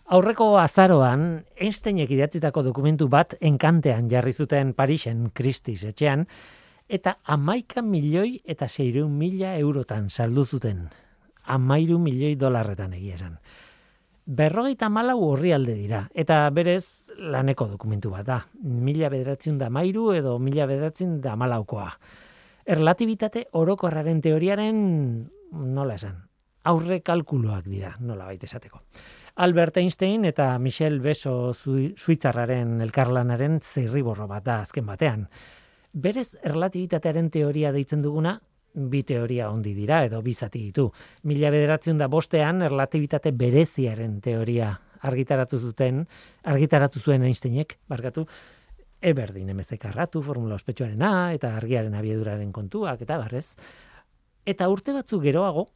Aurreko azaroan, Einsteinek idatzitako dokumentu bat enkantean jarri zuten Parisen, Christie's etxean, eta 11.600.000 eurotan saldu zuten. 13.000.000 egia esan. 54 orrialde dira, eta berez laneko dokumentu bat da. 1913 edo 1914koa. Erlatibitate orokorraren teoriaren, nola esan, aurre kalkuluak dira, nola baita esateko. Albert Einstein eta Michel Beso suitzarraren elkarlanaren zirriborro bat da azken batean. Berez erlatibitatearen teoria deitzen duguna, bi teoria handi dira edo bi zati ditu. 1905 erlatibitate bereziaren teoria argitaratu zuen Einsteinek, Eberdin emezekarratu, formula ospetsuarena eta argiaren abiaduraren kontuak eta barrez. Eta urte batzuk geroago,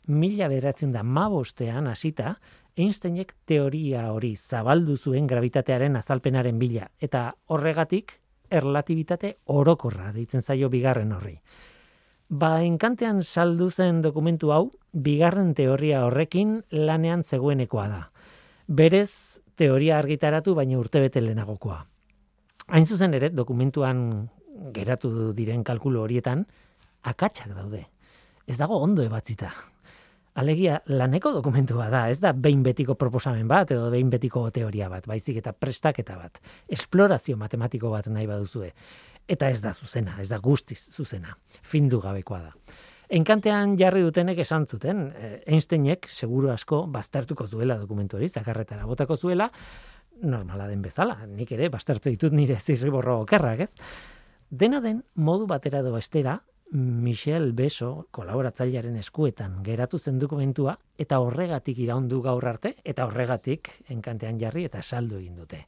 1915 hasita, Einsteinek teoria hori zabaldu zuen gravitatearen azalpenaren bila, eta horregatik erlatibitate orokorra deitzen zaio bigarren horri. Enkantean saldu zen dokumentu hau, bigarren teoria horrekin lanean zegoenekoa da. Berez, teoria argitaratu baina urtebete lehenagokoa. Hain zuzen ere, dokumentuan geratu diren kalkulu horietan, akatsak daude. Ez dago ondo ebatzita. Alegia, laneko dokumentua da, ez da behin betiko proposamen bat edo behin betiko teoria bat, baizik eta prestaketa bat, esplorazio matematiko bat nahi baduzue. Eta ez da zuzena, ez da guztiz zuzena, findu gabekoa da. Enkantean jarri dutenek esan zuten, Einsteinek seguru asko baztertuko zuela dokumentu hori, zakarretara botako zuela, normala den bezala, nik ere baztertu ditut nire zirriborro okerrak, ez? Dena den, modu batera edo bestera, Michel Beso, kolaboratzailearen eskuetan geratu zen dokumentua, eta horregatik iraundu gaur arte, eta horregatik enkantean jarri eta saldu egin dute.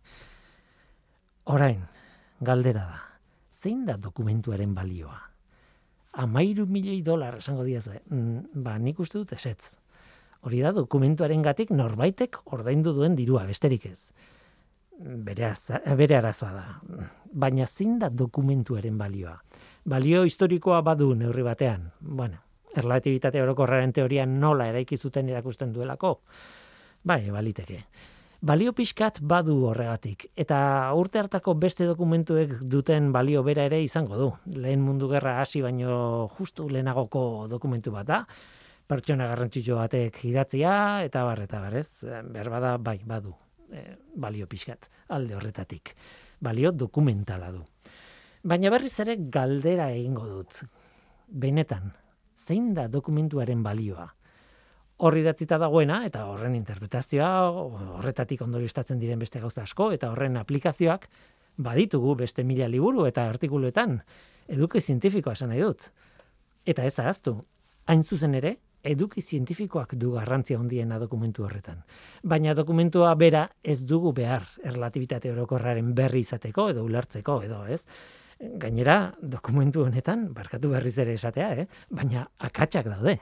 Orain, galdera da, zein da dokumentuaren balioa? $13.000.000 esango diazue. Nik uste dut ezetz. Hori da dokumentuarengatik norbaitek ordaindu duen dirua, besterik ez. Bere arazoa da. Baina zein da dokumentuaren balioa? Balio historikoa badu neurri batean. Erlatibitate orokorraren teoria nola eraiki zuten erakusten duelako? Baliteke. Balio pixkat badu horregatik, eta urte hartako beste dokumentuek duten balio bera ere izango du. Lehen mundu gerra hasi baino justu lehenagoko dokumentu bat da, pertsona garrantzitsu batek idatzia, eta barrez, berbada badu, balio pixkat, alde horretatik. Balio dokumentala du. Baina berriz ere galdera egingo dut. Benetan, zein da dokumentuaren balioa? Horri datzita dagoena, eta horren interpretazioa, horretatik ondorioztatzen diren beste gauza asko, eta horren aplikazioak baditugu beste 1000 liburu eta artikuluetan. Eduki zientifikoa esan nahi dut. Eta ez ahaztu, hain zuzen ere, eduki zientifikoak du garrantzia handiena dokumentu horretan. Baina dokumentua bera ez dugu behar erlatibitate orokorraren berri izateko edo ulertzeko edo, ez? Gainera, dokumentu honetan, barkatu berriz ere esatea, baina akatsak daude.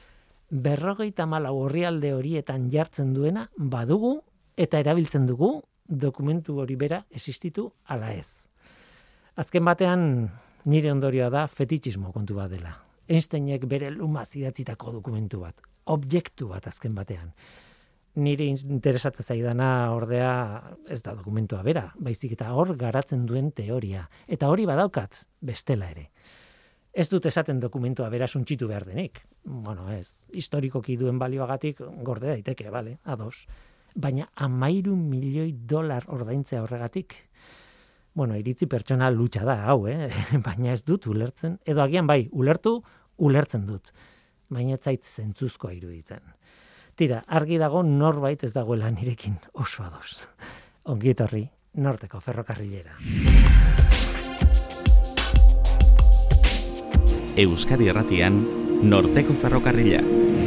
54 orrialde horietan jartzen duena badugu eta erabiltzen dugu dokumentu hori bera existitu ala ez. Azken batean nire ondorioa da fetitxismo kontu bat dela. Einsteinek bere lumaz idatzitako dokumentu bat, objektu bat azken batean. Nire interesatzen zaidana ordea ez da dokumentua bera, baizik eta hor garatzen duen teoria. Eta hori badaukat bestela ere. Ez dut esaten dokumentua bera suntxitu behar denik. Ez, historikoki duen balioagatik gorde daiteke, ados. Baina $13.000.000 ordaintzea horregatik. Iritzi pertsona lutsa da, hau, baina ez dut ulertzen. Edo agian ulertzen dut. Baina ez zait zentzuzkoa iruditzen. Tira, argi dago norbait ez dagoela nirekin oso ados. Ongi etorri, Norteko ferrokarrilera. Euskadi Irratian, Norteko ferrokarrila.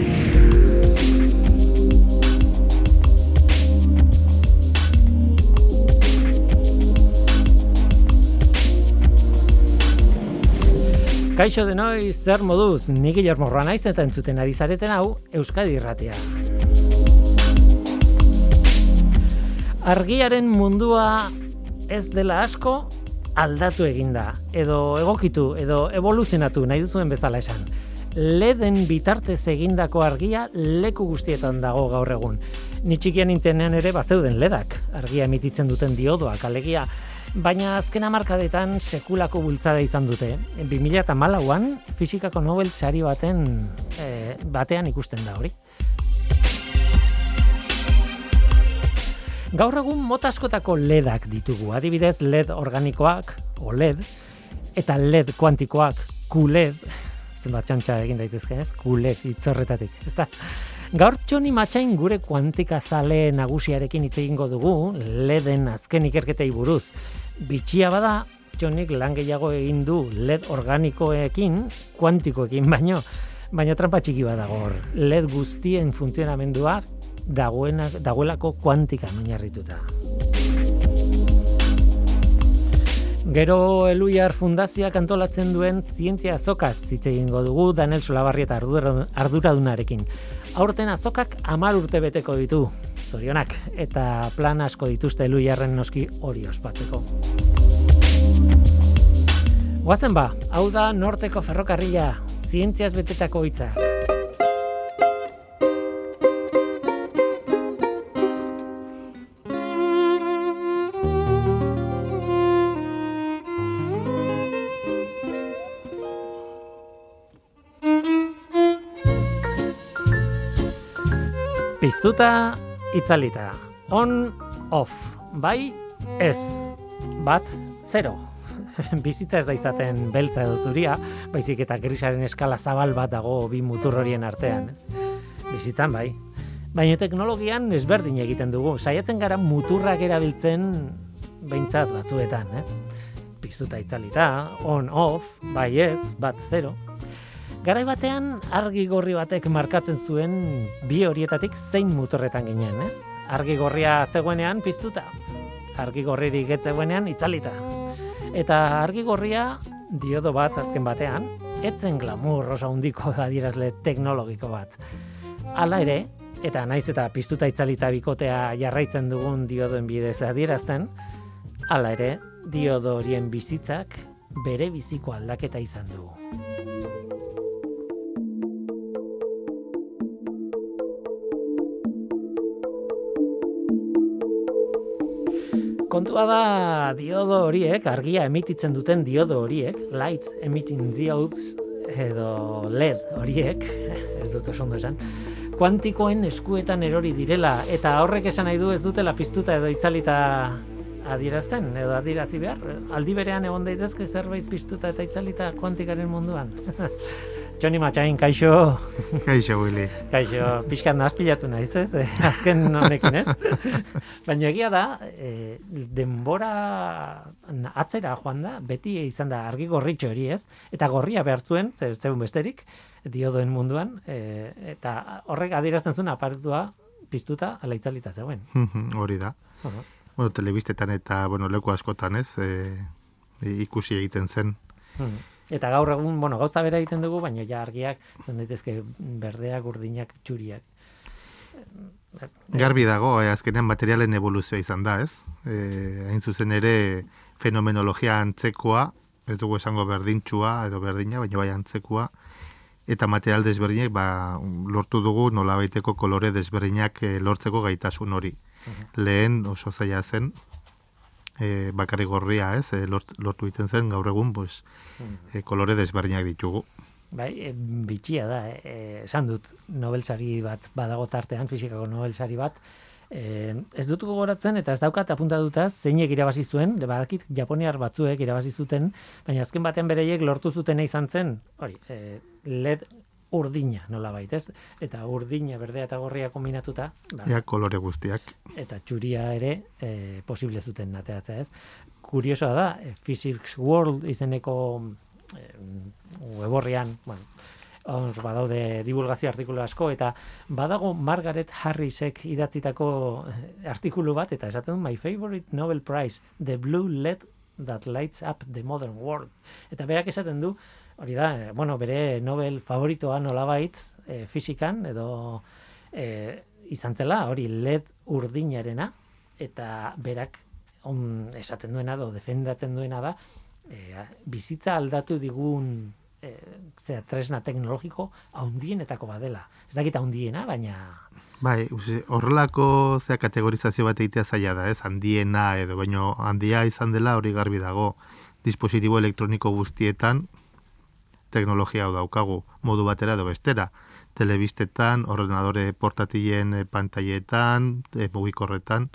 Kaixo denoi, zer moduz, ni Guillermo Roa naiz eta entzuten ari zareten hau Euskadi Irratia. Argiaren mundua ez dela asko aldatu eginda, edo egokitu, edo evoluzionatu nahi duzuen bezala esan. LEDen bitartez egindako argia leku guztietan dago gaur egun. Ni txikian nintzenean ere bazeuden ledak, argia emititzen duten diodoak alegia, baina azken hamarkadetan sekulako bultzada izan dute. 2014an fisikako Nobel sari batean ikusten da hori. Gaur egun mota askotako ledak ditugu, adibidez LED organikoak, OLED, eta LED kuantikoak, QLED, zenbat txantxa egin daitezke, ez? QLED hitzorretatik, ezta? Gaur Txoni Matxain gure kuantikazale nagusiarekin hitz egingo dugu, LEDen azken ikerketei buruz. Bitxia bada, Txonik lan gehiago egin du LED organikoekin, kuantikoekin baina trampa txiki bat dago hor. LED guztien funtzionamendua dagoelako kuantikan oinarrituta. Gero Eluiar Fundazioak antolatzen duen zientzia azokaz hitz egingo dugu Daniel Solabarrieta arduradunarekin. Aurten azokak 10 urte beteko ditu, zorionak, eta plan asko dituzte Eluiarren noski hori ospatzeko. Goazen ba, hau da Norteko Ferrokarrila, zientziaz betetako hitza. Piztuta, itzalita. On, off. Bai, ez. Bat, zero. Bizitza ez da izaten beltza edo zuria, baizik eta grisaren eskala zabal bat dago bi mutur horien artean. Bizitzan bai. Baina teknologian ezberdin egiten dugu. Saiatzen gara muturrak erabiltzen behintzat batzuetan, ez? Piztuta, itzalita. On, off. Bai, ez. Bat, zero. Garai batean argi gorri batek markatzen zuen bi horietatik zein muturretan ginen, ez? Argi gorria zegoenean piztuta, argi gorririk ez zegoenean itzalita. Eta argi gorria diodo bat azken batean, etzen glamour oso handiko adierazle teknologiko bat. Hala ere, eta naiz eta piztuta itzalita bikotea jarraitzen dugun diodoen bidez adierazten, hala ere, diodo horien bizitzak bere biziko aldaketa izan du. Kontua da diodo horiek, argia emititzen duten diodo horiek, light emitting diodes edo LED horiek, ez dut oso ondo esan, kuantikoen eskuetan erori direla, eta horrek esan nahi du ez dutela piztuta edo itzalita adierazten, edo adierazi behar, aldi berean egon daitezke zerbait piztuta eta itzalita kuantikaren munduan. Txoni Matxain, kaixo. Kaixo, Willy. Kaixo, pixkat nahazpilatu naiz, ez? Azken honekin, ez? Baina egia da, denbora atzera joan da, beti izan da argi gorritxo hori, ez? Eta gorria behar zuen, zegoen besterik, diodoen munduan, eta horrek adierazten zuen aparatua piztuta ala itzalita zegoen. Hori da. Bueno, telebistetan eta leku askotan, ez? Ikusi egiten zen. Eta gaur egun, gauza bera egiten dugu, baina ja argiak zen daitezke berdeak, urdinak, txuriak. Garbi dago, azkenean materialen evoluzioa izan da, ez? Hain zuzen ere fenomenologia antzekoa, ez dugu esango berdintxua edo berdina, baina bai antzekoa, eta material desberdinak lortu dugu nolabaiteko kolore desberdinak lortzeko gaitasun hori. Lehen oso zaila zen, bakarrik gorria, ez, lortu egiten zen, gaur egun, kolore desberdinak ditugu. Bai, bitxia da, esan dut, Nobel sari bat badago tartean, fisikako Nobel sari bat, ez dut gogoratzen, eta ez daukat apuntatuta zeinek irabazi zuen, badakit japoniar batzuek irabazi zuten, baina azken batean bereiek lortu zutena izan zen, hori, LED urdina, nolabait, ez? Eta urdina, berdea eta gorria kombinatuta. Ja, kolore guztiak. Eta txuria ere posible zuten ateratzea, ez? Kuriosoa da, Physics World izeneko weborrian, hor badaude divulgazio artikulu asko, eta badago Margaret Harrisek idatzitako artikulu bat, eta esaten du, My favorite Nobel Prize, the blue LED that lights up the modern world. Eta berak esaten du, hori da, bere Nobel favoritoa nolabait fizikan, edo izan zela, hori LED urdinarena, eta berak esaten duena, edo defendatzen duena da, bizitza aldatu digun tresna teknologiko haundienetako badela. Ez dakit haundiena, baina Bai, horrelako kategorizazio bat egitea zaila da, ez? Handiena edo, baino handia izan dela hori garbi dago. Dispositibo elektroniko guztietan teknologia hau daukagu, modu batera edo bestera. Telebistetan, ordenadore portatilen pantailetan, mugikorretan,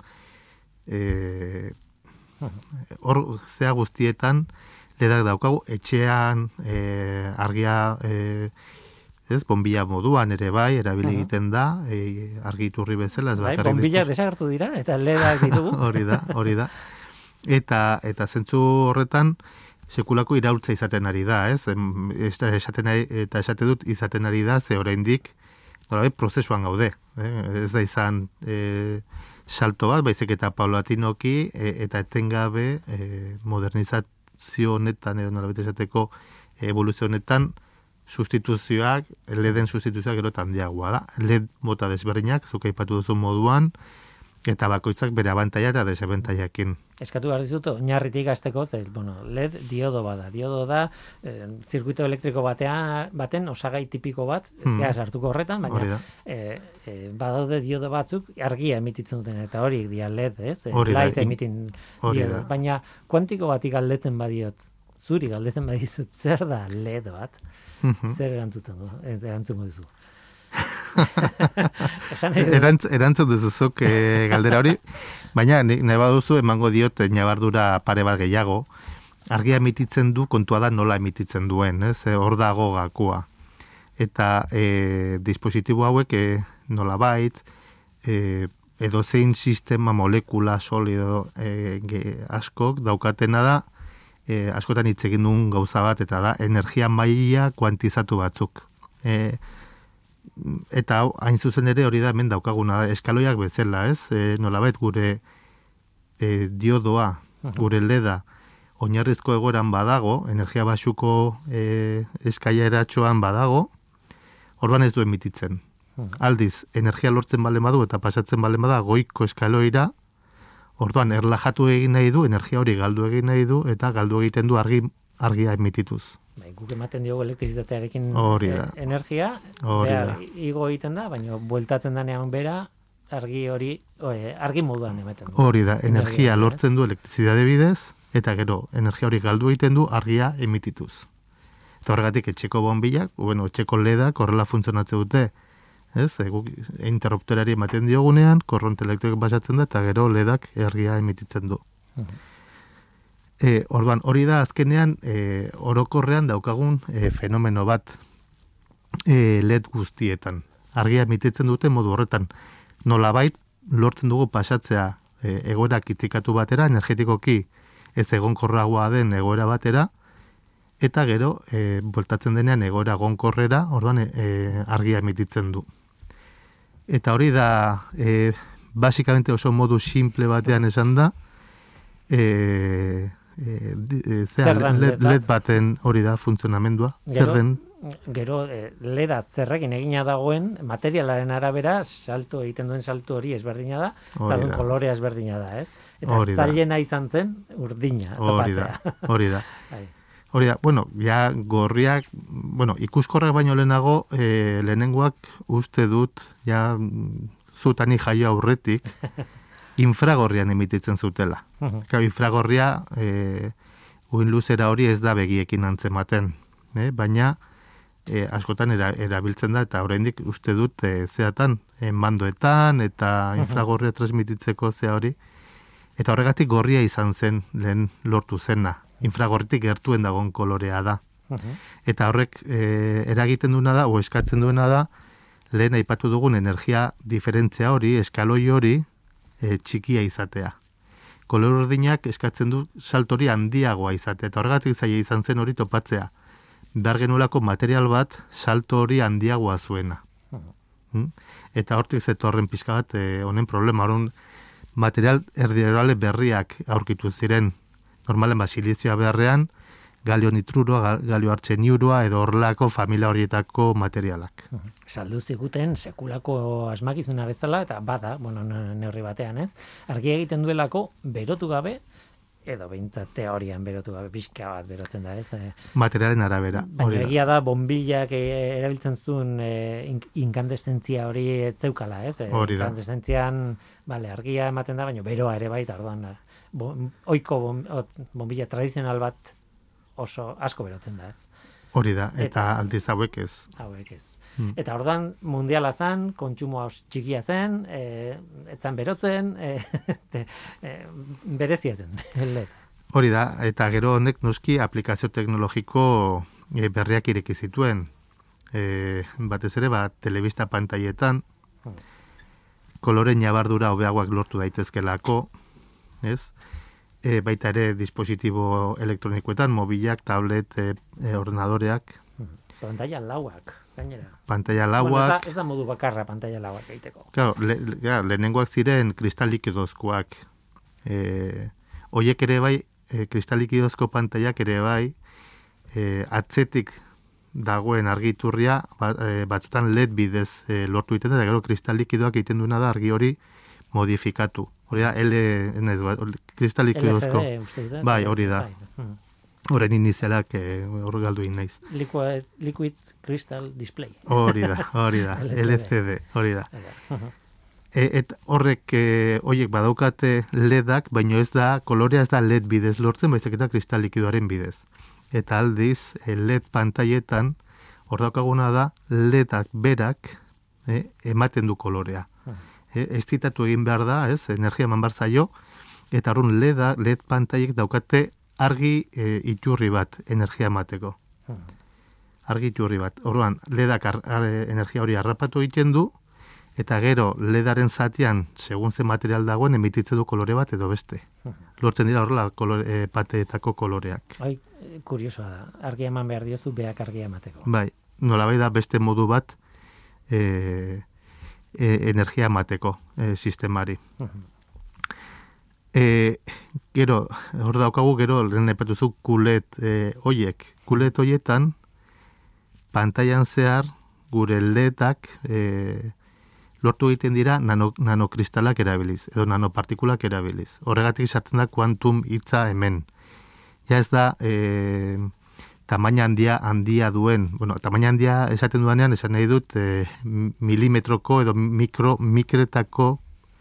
hor guztietan ledak daukagu, etxean argia bombilla moduan ere bai, erabili egiten da, argi iturri bezala. Bai, bombilak desagertu dira, eta ledak ditugu. Hori da. Eta zentzu horretan, sekulako iraultza izaten ari da, ez? Esate dut izaten ari da, ze oraindik prozesuan gaude. Ez da izan salto bat, baizik eta paulatinoki eta etengabe modernizazio honetan, edo nolabait esateko evoluzio honetan, sustituzioak, LED-en sustituzioak gero handiagoa da. LED mota desberdinak, zuk aipatu duzu moduan, eta bakoitzak bere abantaila eta desabantailakin. Eskatu behar dizut, oinarritik hasteko, LED diodo bada. Diodo da, zirkuito elektriko baten osagai tipiko bat, ez gara sartuko horretan, baina badaude diodo batzuk argia emititzen duten, eta horiek dira LED, ez? Light emitting diodo. Baina kuantiko bati galdetzen badiot, zuri galdetzen badizut, zer da LED bat? Zer erantzungo duzu? Erantzun duzuzuk galdera hori, baina nahi baduzu emango diot ñabardura pare bat gehiago. Argia emititzen du, kontua da nola emititzen duen, ez? Hor dago gakoa. Eta dispositibo hauek nolabait edozein sistema molekula solido askok daukatena da, askotan hitz egin duen gauza bat, eta da energia maila kuantizatu batzuk. Eta hau, hain zuzen ere hori da hemen daukaguna, eskaloiak bezala, ez? Nolabait gure diodoa, gure leda, oinarrizko egoeran badago, energia baxuko eskaileratxoan badago, orduan ez du emititzen. Aldiz, energia lortzen bale badu eta pasatzen bale bada goiko eskaloira, orduan erlajatu egin nahi du, energia hori galdu egin nahi du, eta galdu egiten du argia emitituz. Guk ematen diogu elektrizitatearekin energia, igo egiten da, baina bueltatzen danean bera, argi moduan ematen du. Hori da, energia lortzen du elektrizitate bidez, eta gero, energia hori galdu egiten du argia emitituz. Eta horregatik, etxeko bonbilak, etxeko ledak horrela funtzionatzen dute, ez? Interruptorari ematen diogunean, korronte elektriko basatzen da, eta gero ledak argia emititzen du. Orduan, hori da azkenean orokorrean daukagun fenomeno bat LED guztietan. Argia emititzen dute modu horretan. Nolabait lortzen dugu pasatzea egoera kitzikatu batera, energetikoki ez egonkorragoa den egoera batera, eta gero bueltatzen denean egoera egonkorrera, orduan argia emititzen du. Eta hori da basikamente oso modu simple batean esan da, LED baten hori da funtzionamendua. Gero LEDa zerrekin egina dagoen materialaren arabera salto egiten duen salto hori ezberdina da, eta duen kolorea ezberdina da, ez? Eta zailena izan zen urdina topatzea. Hori da. Ja gorriak, ikuskorrak baino lehenago, lehenengoak uste dut, ja zutani jaio aurretik, infragorrian emititzen zutela. Infragorria, uin luzera hori ez da begiekin antzematen, baina askotan erabiltzen da, eta oraindik uste dut zeatan, mandoetan, eta infragorria transmititzeko zea hori, eta horregatik gorria izan zen lehen lortu zena. Infragorritik gertuen dagoen kolorea da. Eta horrek eragiten duena da, o eskatzen duena da, lehen aipatu dugun energia diferentzia hori, eskaloi hori, txikia izatea. Kolor urdinak eskatzen du saltori handiagoa izatea, eta horregatik zaila izan zen hori topatzea. Behar genulako material bat salto hori handiagoa zuena. Eta hortik zetorren pixka bat honen problema, horren material erdiorale berriak aurkitu ziren. Normalen silizioa beharrean, galio nitruroa, galio artseniurua edo horrelako familia horietako materialak. Saldu ziguten sekulako asmakizuna bezala, eta bada, neurri batean, ez? Argia egiten duelako, berotu gabe, edo behintzat teorian berotu gabe, pixka bat berotzen da, ez? Materialen arabera. Baina egia da, bombillak erabiltzen zuen inkandeszentzia hori ez zeukala, ez? Hori da. Inkandestzentzian, argia ematen da, baina beroa ere baita, orduan, ohiko bombilla tradizional bat oso asko berotzen da, ez? Hori da, eta aldiz hauek ez. Hauek ez. Eta orduan mundiala zen, kontsumoa txikia zen, etzan berotzen, berezia zen, LED. Hori da, eta gero honek noski aplikazio teknologiko berriak ireki zituen. Batez ere, telebista pantailetan, kolore ñabardura hobeagoak lortu daitezkelako, ez? Baita ere dispositibo elektronikoetan, mobilak, tablet, ordenadoreak. Pantalla lauak, gainera. Pantalla lauak. Bueno, ez da modu bakarra pantalla lauak egiteko. Claro, lehenengoak ziren kristal likidozkoak. Hoiek ere bai, kristal likidozko pantaiak ere bai, atzetik dagoen argiturria batzutan LED bidez lortu egiten da, eta gero kristal likidoak egiten duena da argi hori modifikatu. Hori da, kristal likidozko. LCD, uste dut, bai, hori da. Horren inizialak hor galdu naiz. Liquid Crystal Display. Hori da. LCD, hori da. Horrek, horiek badaukate LEDak, baina ez da, kolorea ez da LED bidez lortzen, baizik eta kristal likidoaren bidez. Eta aldiz, LED pantailetan, hor daukaguna da, LEDak berak ematen du kolorea. Estitatu egin behar da, ez, energia eman behar zaio, eta horren LED pantailek daukate argi iturri bat energia emateko. Argi iturri bat. Orduan, LEDak energia hori harrapatu egiten du, eta gero LEDaren zatian, segun ze material dagoen, emititze du kolore bat edo beste. Lortzen dira horrela pateetako koloreak. Kuriosoa da. Argia eman behar diozu, beak argia emateko. Bai, nolabait da beste modu bat energia emateko sistemari. Gero, hor daukagu, gero, lehen epatuzu kulet hoiek. Kulet hoietan, pantailan zehar, gure LEDak lortu egiten dira nanokristalak erabiliz, edo nanopartikulak erabiliz. Horregatik sartzen da kuantum hitza hemen. Ja ez da tamaina handia duen, tamaina handia esaten duanean, esan nahi dut milimetroko edo mikretako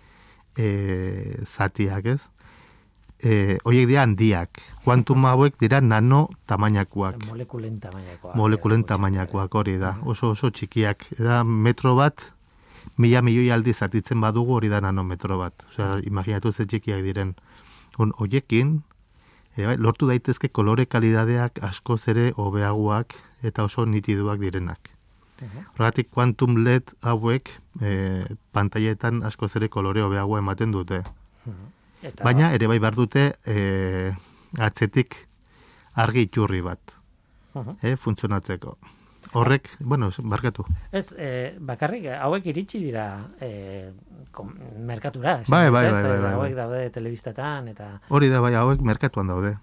zatiak, ez? Horiek dira handiak. Kuantum hauek dira nano tamainakoak. Molekulen tamainakoak, hori da. Oso txikiak. Da metro bat, 1000 milioi aldiz zatitzen badugu, hori da nanometro bat. Osea, imaginatu ze txikiak diren. Horiekin, lortu daitezke kolore kalidadeak askoz ere hobeagoak eta oso nitiduak direnak. Horregatik quantum LED hauek pantailetan askoz ere kolore hobeagoa ematen dute. Baina ere bai behar dute atzetik argi iturri bat funtzionatzeko. Horrek, barkatu. Ez, bakarrik, hauek iritsi dira merkatura. Bai. Hauek daude telebistatan, eta... Hori da, bai, hauek merkatuan daude.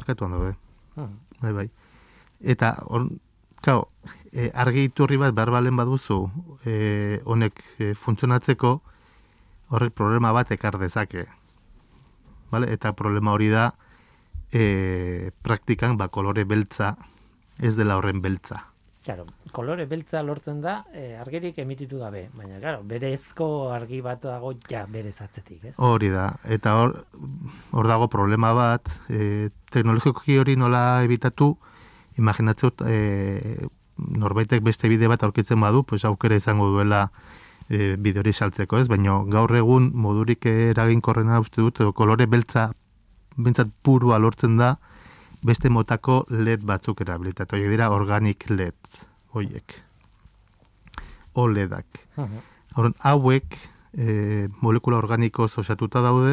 Bai. Eta, argi iturri bat behar balen baduzu, honek funtzionatzeko, horrek problema bat ekar dezake. Eta problema hori da, praktikan, kolore beltza, ez dela horren beltza. Claro, kolore beltza lortzen da argirik emititu gabe, baina claro, berezko argi bat dago ja berez atzetik, ez? Hori da, eta hor dago problema bat, teknologikoki hori nola ebitatu, imaginatzut norbaitek beste bide bat aurkitzen badu, pues aukera izango duela bide hori saltzeko, ez? Baina gaur egun modurik eraginkorrena uste dut, kolore beltza bentsat purua lortzen da, beste motako LED batzuk erabilitatu. Horiek dira organic LED, horiek. OLEDak. Hauek molekula organikoz osatuta daude.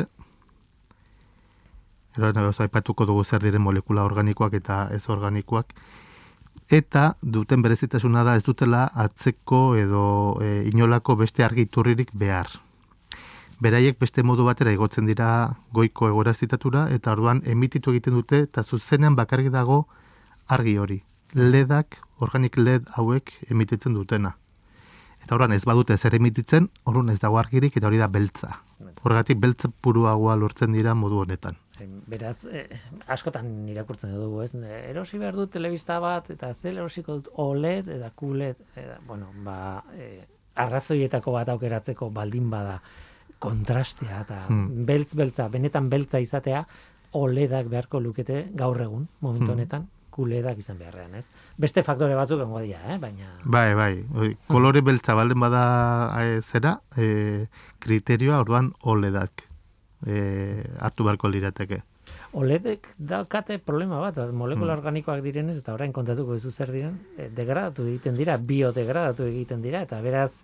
Aipatuko dugu zer diren molekula organikoak eta ez organikoak. Eta duten berezitasuna da ez dutela atzeko edo inolako beste argiturririk behar. Beraiek beste modu batera igotzen dira goiko egorazitatura, eta orduan emititu egiten dute, eta zuzenean bakarrik dago argi hori. LEDak, organic LED hauek emititzen dutena. Eta orduan ez badute zer emititzen, orduan ez dago argirik, eta hori da beltza. Horregatik beltza puruagoa lortzen dira modu honetan. Beraz, askotan irakurtzen dugu, ez? Erosi behar dut telebista bat, eta zel erosiko dut OLED, eta QLED, arrazoietako bat aukeratzeko baldin bada kontrastea, eta beltza, benetan beltza izatea, OLEDak beharko lukete gaur egun, momentu honetan, QLEDak izan beharrean, ez? Beste faktore batzuk egongo dira, baina... Bai. Kolore beltza baldin bada zera, kriterioa orduan OLEDak hartu beharko lirateke. OLEDek daukate problema bat, molekula organikoak direnez, eta orain kontatuko duzu zer diren, degradatu egiten dira, biodegradatu egiten dira, eta beraz,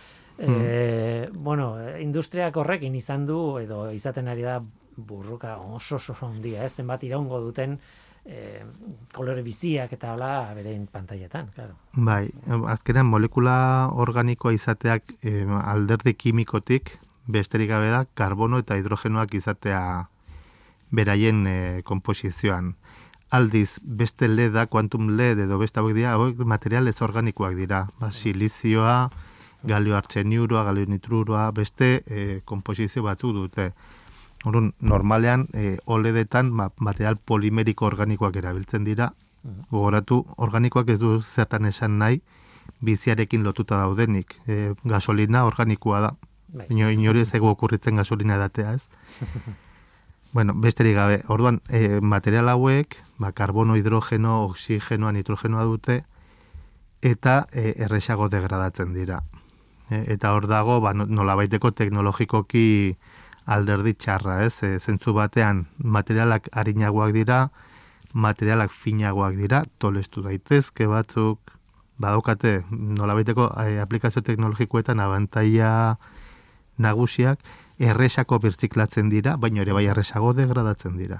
industriak horrekin izan du, edo izaten ari da burruka oso handia, zenbat iraungo duten kolore biziak eta hola berein pantailetan, claro. Bai, azkenean molekula organikoa izateak alderdi kimikotik, besterik gabe da, karbono eta hidrogenoak izatea beraien konposizioan. Aldiz, beste LEDa, quantum LED edo beste hauek dira, hauek material ez organikoak dira. Silizioa, galio artseniuroa, galio nitruroa, beste konposizio batzuk dute. Orduan, normalean, OLEDetan material polimeriko organikoak erabiltzen dira. Gogoratu, organikoak ez du zertan esan nahi, biziarekin lotuta daudenik. Gasolina organikoa da. Inori ez ego okurritzen gasolina edatea, ez? Bueno, besterik gabe, orduan, material hauek, karbono, hidrogeno, oxigenoa, nitrogenoa dute, eta erresago degradatzen dira. Eta hor dago, nolabaiteko teknologikoki alderdi txarra, ez? Zentzu batean, materialak arinagoak dira, materialak finagoak dira, tolestu daitezke batzuk, badaukate nolabaiteko aplikazio teknologikoetan abantaila nagusiak, erresako birziklatzen dira, baina ere bai erresago degradatzen dira.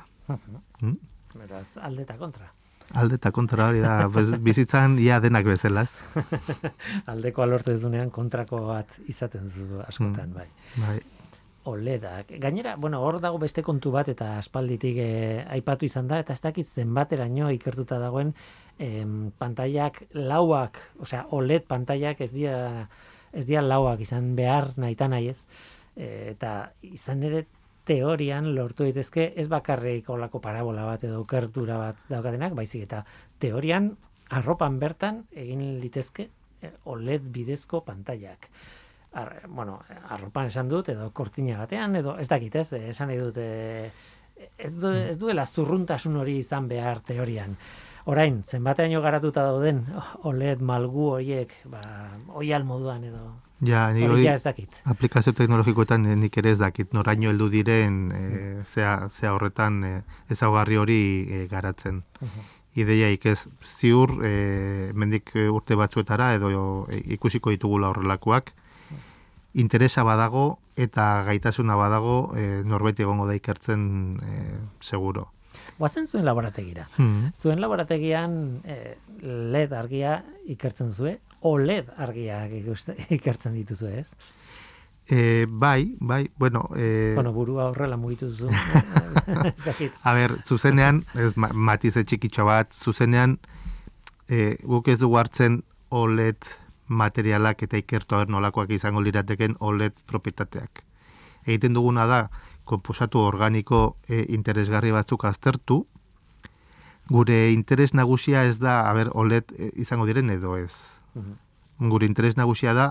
Beraz, alde eta kontra. Alde eta kontra hori da, bizitzan ia denak bezalaz. Aldeko alorte duzunean kontrako bat izaten zu askotan, bai. OLEDak. Gainera, hor dago beste kontu bat eta aspalditik aipatu izan da, eta ez dakit zenbateraino ikertuta dagoen pantailak lauak, osea, OLED pantailak ez dira lauak izan behar nahita nahi ez. Eta izan ere teorian lortu daitezke ez bakarrik olako parabola bat edo okertura bat daukatenak, baizik eta teorian arropan bertan egin litezke OLED bidezko pantailak. Arropan esan dut, edo kortina batean, edo ez dakit ez, esan nahi dut, ez duela zurruntasun hori izan behar teorian. Orain, zenbateaino garatuta dauden OLED malgu horiek, oial moduan edo... Ja, hori ez dakit. Aplikazio teknologikoetan nik ere ez dakit, noraino heldu diren zea horretan ezaugarri hori garatzen. Ideiaik ez ziur, mendik urte batzuetara edo ikusiko ditugula horrelakoak, interesa badago eta gaitasuna badago norbait egongo da ikertzen seguro. Guazen zuen laborategira. Zuen laborategian LED argia ikertzen zuen, OLED argiak ikertzen dituzu, ez? Bai, bueno... burua horrela mugitu zu. A ber, zuzenean, matize txikitxo bat, zuzenean, guk ez dugu hartzen OLED materialak eta ikertu nolakoak izango lirateken OLED propietateak. Egiten duguna da, konposatu organiko interesgarri batzuk aztertu, gure interes nagusia ez da, OLED izango diren edo ez. Gure interes nagusia da,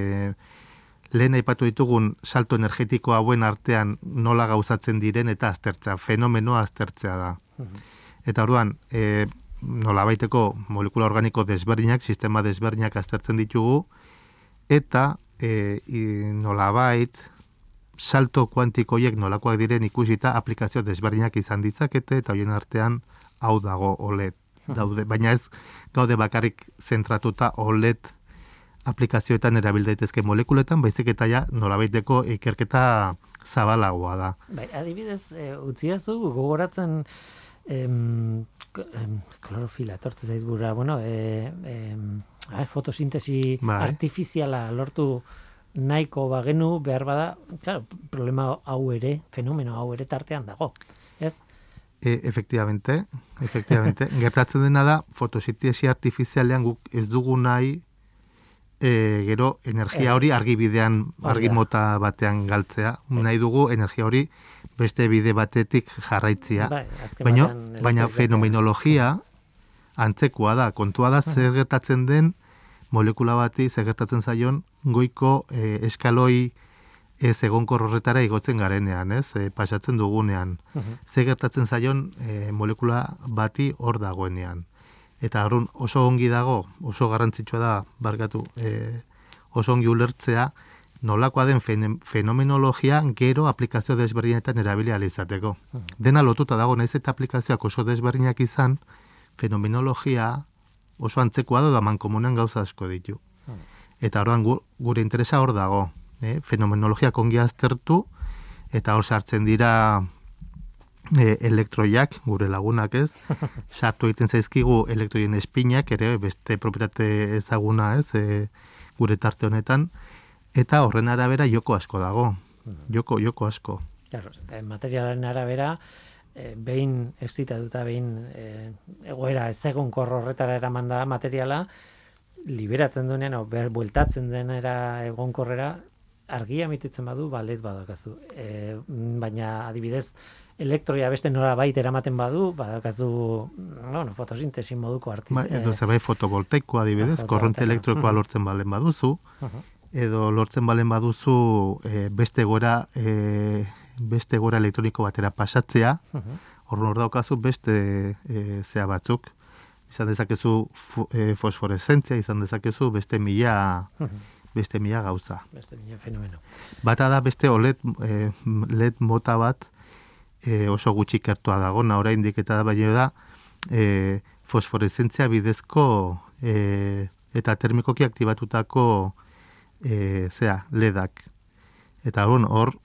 lehen aipatu ditugun salto energetiko hauen artean nola gauzatzen diren eta aztertzea, fenomenoa aztertzea da. Eta orduan, nolabaiteko molekula organiko desberdinak, sistema desberdinak aztertzen ditugu, eta nolabait salto kuantikoiek nolakoak diren ikusita aplikazio desberdinak izan ditzakete, eta horien artean hau dago OLED daude. Baina ez gaude bakarrik zentratuta OLED aplikazioetan erabil daitezke molekuletan, baizik eta ja nolabaiteko ikerketa zabalagoa da. Bai, adibidez, utziazu gogoratzen klorofila etortzen zaiz burra, fotosintesi artifiziala lortu nahiko bagenu behar bada, claro, problema hau ere, fenomeno hau ere tartean dago, ez? Efectivamente. Gertatzen dena da, fotosintesi artifizialean guk ez dugu nahi gero energia hori argi bidean, argi mota batean galtzea. Nahi dugu energia hori beste bide batetik jarraitzia. Baina fenomenologia antzekoa da. Kontua da zer gertatzen den molekula bati, zer gertatzen zaion goiko eskaloi ez egonkor horretara igotzen garenean, ez? Pasatzen dugunean. Zer gertatzen zaion molekula bati hor dagoenean. Eta horren oso ongi dago, oso garrantzitsua da, oso ongi ulertzea, nolakoa den fenomenologia gero aplikazio desberdinetan erabili ahal izateko. Dena lotuta dago, naiz eta aplikazioak oso desberdinak izan, fenomenologia oso antzekoa da mankomunean gauza asko ditu. Eta orduan gure interesa hor dago. Fenomenologiak ongi aztertu, eta hor sartzen dira elektroiak, gure lagunak ez, sartu egiten zaizkigu elektroien espinak, ere beste propietate ezaguna ez, gure tarte honetan, eta horren arabera joko asko dago. Joko asko. Claro, materialen arabera, behin estitatuta, behin egoera ez egonkor horretara eraman da materiala, liberatzen duenean, bueltatzen denera egonkorrera, argia emititzen badu, balet badakazu. Baina adibidez, elektroia beste norabait eramaten badu, badakazu, fotosintesi moduko edo zerbait fotovoltaikoa adibidez, korronte elektrikoa lortzen balen baduzu, edo lortzen balen baduzu beste gora elektroniko batera pasatzea, hor daukazu beste zea batzuk, izan dezakezu fosforesentzia, izan dezakezu beste mila gauza. Beste mila fenomeno. Bata da beste LED mota bat oso gutxi ikertua dago, oraindik eta baino da fosforesentzia bidezko eta termikoki aktibatutako LEDak. Eta hor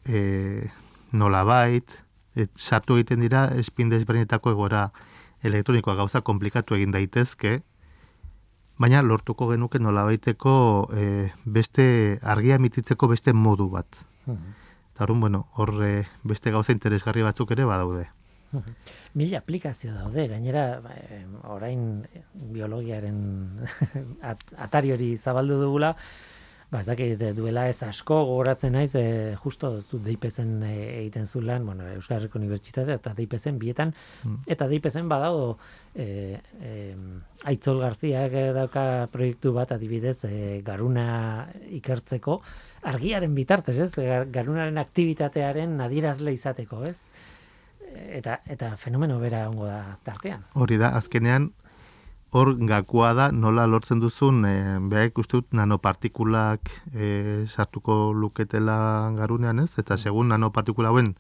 nolabait sartu egiten dira espin desberdinetako egoera elektronikoa, gauza komplikatu egin daitezke, baina lortuko genuke nolabaiteko beste argia emititzeko beste modu bat. Eta hor beste gauza interesgarri batzuk ere badaude. Mila aplikazio daude, gainera orain biologiaren atari hori zabaldu dugula, ez dakit duela ez asko gogoratzen naiz, justo zu DIPEzen egiten zu lan, Euskal Herriko Unibertsitatea eta DIPEzen bietan, eta DIPEzen badago Aitzol Garziak dauka proiektu bat adibidez garuna ikertzeko, argiaren bitartez, ez? Garunaren aktibitatearen adierazle izateko, ez? Eta fenomeno bera ongo da tartean. Hori da, azkenean hor gakoa da nola lortzen duzun, behar uste dut nanopartikulak sartuko luketela garunean, ez? Eta segun nanopartikula hauen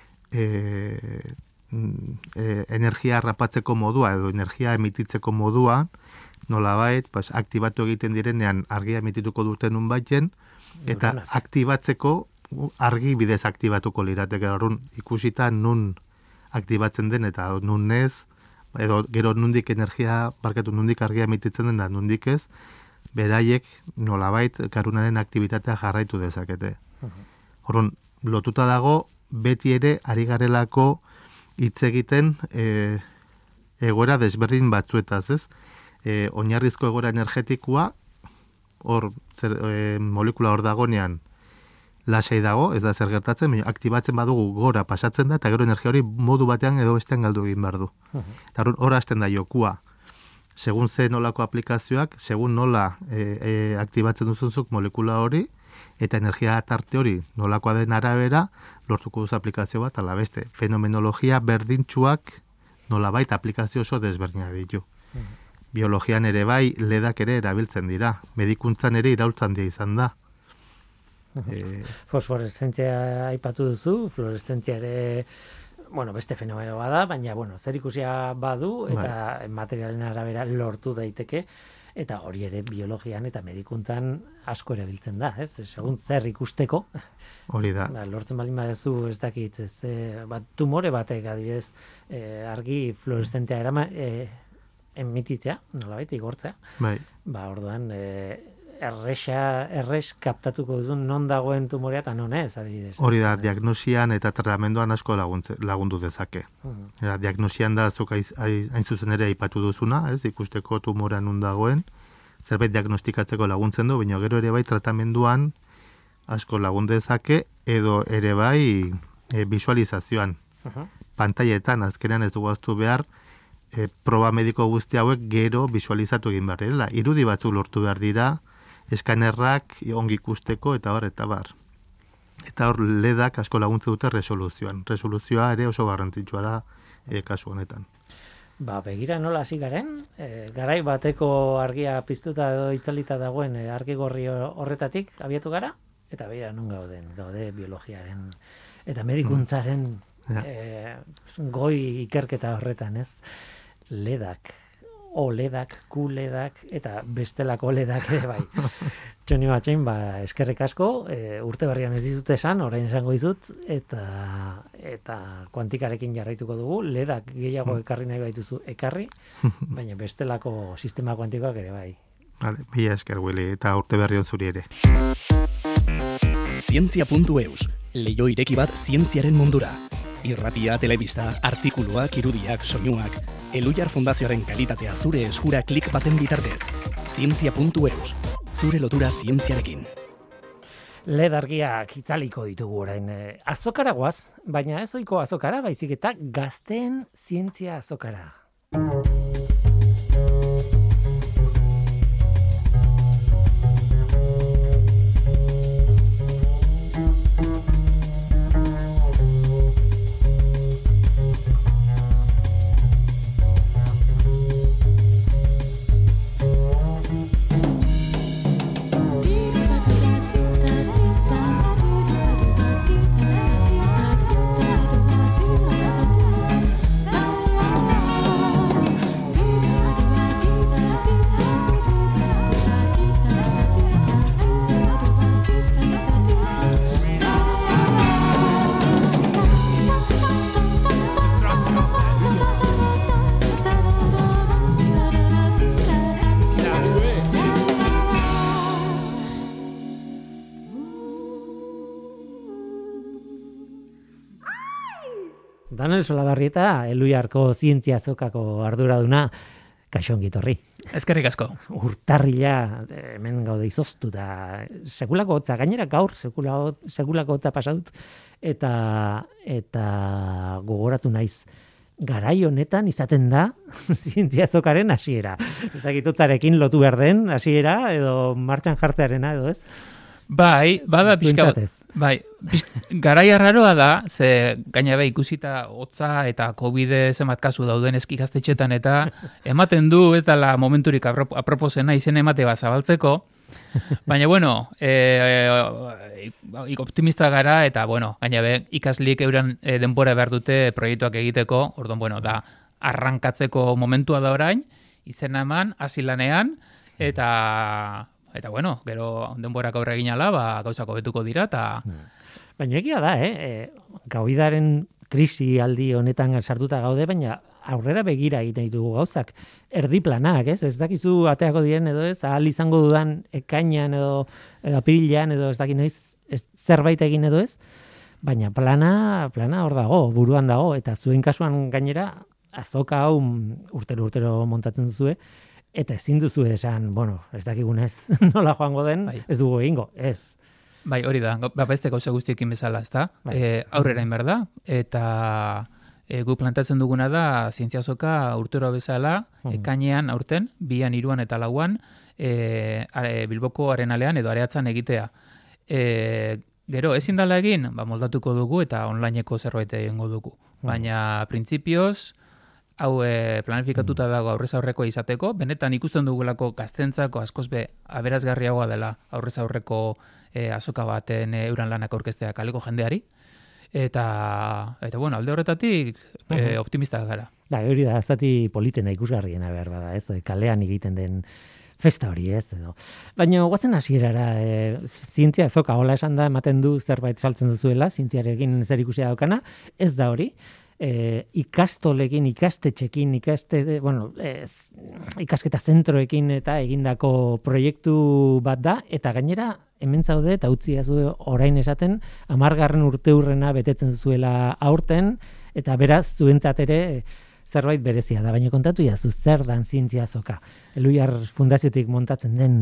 energia rapatzeko modua edo energia emititzeko modua, nolabait, aktibatu egiten direnean argia emitituko duten unbaiten, eta aktibatzeko argi bidez aktibatuko lirateke. Ikusita nun aktibatzen den eta nun ez, edo gero nundik argia emititzen den da nundik ez, beraiek nolabait garunaren aktibitatea jarraitu dezakete. Horren, lotuta dago, beti ere ari garelako hitz egiten egoera desberdin batzuetaz, ez? Oinarrizko egoera energetikoa, hor molekula hor dagonean lasai dago, ez da zer gertatzen, aktibatzen badugu gora pasatzen da, eta gero energia hori modu batean edo bestean galdu egin behar du. Eta hor hasten da jokua. Segun ze nolako aplikazioak, segun nola aktibatzen duzunzuk molekula hori, eta energia tarte hori nolakoa den arabera, lortuko duzu aplikazio bat, ala beste. Fenomenologia berdintsuak nolabait aplikazio oso desberdinak ditu. Biologian ere bai, ledak ere erabiltzen dira. Medikuntzan ere iraultzan dira izan da. Fosforeszentzia aipatu duzu, fluoreszentzia ere beste fenomeno bada, baina zer ikusia badu eta materialen arabera lortu daiteke, eta hori ere biologian eta medikuntzan asko erabiltzen da, ez? Segun zer ikusteko. Hori da. Lortzen baldin baduzu, ez dakit, tumore batek adibidez argi fluoreszentea emititzea, nolabait igortzea. Bai. Orduan erres kaptatuko duzun non dagoen tumorea eta non ez, adibidez. Hori da, diagnosian eta tratamenduan asko lagundu dezake. Diagnosian da, zuk hain zuzen ere aipatu duzuna, ez? Ikusteko tumorea non dagoen, zerbait diagnostikatzeko laguntzen du, baina gero ere bai tratamenduan asko lagun dezake, edo ere bai visualizazioan. Pantailetan azkenean ez dugu ahaztu behar, proba mediko guzti hauek gero visualizatu egin behar direla. Irudi batzu lortu behar dira, eskanerrak ongi ikusteko eta bar, eta bar. Eta hor LEDak asko laguntze dute resoluzioan. Resoluzioa ere oso garrantzitsua da kasu honetan. Begira nola hasi garen, garai bateko argia piztuta edo itzalita dagoen argi gorri horretatik abiatu gara, eta begira non gaude biologiaren eta medikuntzaren goi ikerketa horretan, ez? LEDak, OLEDak, QLEDak eta bestelako LEDak ere bai. Txoni Matxain, eskerrik asko, urte berrian ez dizut esan, orain esango dizut, eta kuantikarekin jarraituko dugu, LEDak gehiago ekarri nahi baituzu ekarri, baina bestelako sistema kuantikoak ere bai. Vale, mila esker, Willy, eta urte berri on zuri ere. Zientzia.eus, leiho ireki bat zientziaren mundura. Irratia, telebista, artikuluak, irudiak, soinuak, Elujar Fundazioaren kalitatea zure eskura klik baten bitartez. Zientzia.eus, zure lotura zientziarekin. LED argiak itzaliko ditugu orain. Azokara guaz, baina ez ohiko azokara, baizik eta gazteen zientzia azokara. Daniel Solabarrieta, Elujarko zientzia azokako arduraduna, kaixo ongi etorri. Eskerrik asko. Urtarrila hemen gaude izoztuta, sekulako hotza, gainera gaur sekulako hotza pasatut, eta gogoratu naiz, garai honetan izaten da zientzia azokaren hasiera. Ez dakit hotzarekin lotu behar den hasiera, edo martxan jartzearena, edo ez? Bai, bada pixka bat. Bai, garai arraroa da, ze gaina ikusita hotza eta COVID zenbat kasu dauden ikastetxetan eta ematen du ez dela momenturik aproposena izen emate bat zabaltzeko. Baina bueno, optimista gara eta bueno, gaina ikasliek euren denbora behar dute proiektuak egiteko, orduan bueno, da arrankatzeko momentua da orain, izena eman, hasi lanean eta bueno, gero denborak aurre egin ala, gauzako betuko dira, eta... Baina egia da, Covidaren krisi aldi honetan sartuta gaude, baina aurrera begira egiten ditugu gauzak. Erdi planak, ez? Ez dakizu ateako diren edo ez, ahal izango dudan ekainan edo apirilean edo ez dakit noiz zerbait egin edo ez, baina plana hor dago, buruan dago, eta zuen kasuan gainera azoka hau urtero montatzen duzue, eta ezin duzu esan, bueno, ez dakigunez nola joango den, ez dugu egingo, ez. Bai, hori da, beste gauza guztiekin bezala, ezta? Aurrera inber da, eta gu plantatzen duguna da zientzia azoka urtero bezala, ekainean aurten, 2, 3 eta 4 Bilboko Arenalean edo Areatzan egitea. Gero, ezin dela egin, moldatuko dugu eta onlineko zerbait egingo dugu. Baina, printzipioz, hau planifikatuta dago aurrez aurreko izateko, benetan ikusten dugulako gaztentzako askoz aberazgarriagoa dela aurrez aurreko azoka baten euran lanak aurkeztea kaleko jendeari, eta bueno, alde horretatik optimista gara. Da, hori da, zati politena ikusgarriena behar bada, ez, kalean egiten den festa hori, ez, edo. Baina, guazen hasierara, zientzia azoka, hola esan da, ematen du zerbait saltzen duzuela, zientziarekin zer ikusia daukana, ez da hori, ikastolekin, ikastetxekin, ikasketa zentroekin eta egindako proiektu bat da, eta gainera hemen zaude eta utzi azu orain esaten 10. urteurrena betetzen zuela aurten, eta beraz zuentzat ere zerbait berezia da, baina kontatu jazu zer dan zientzia azoka. Eluiar fundaziotik montatzen den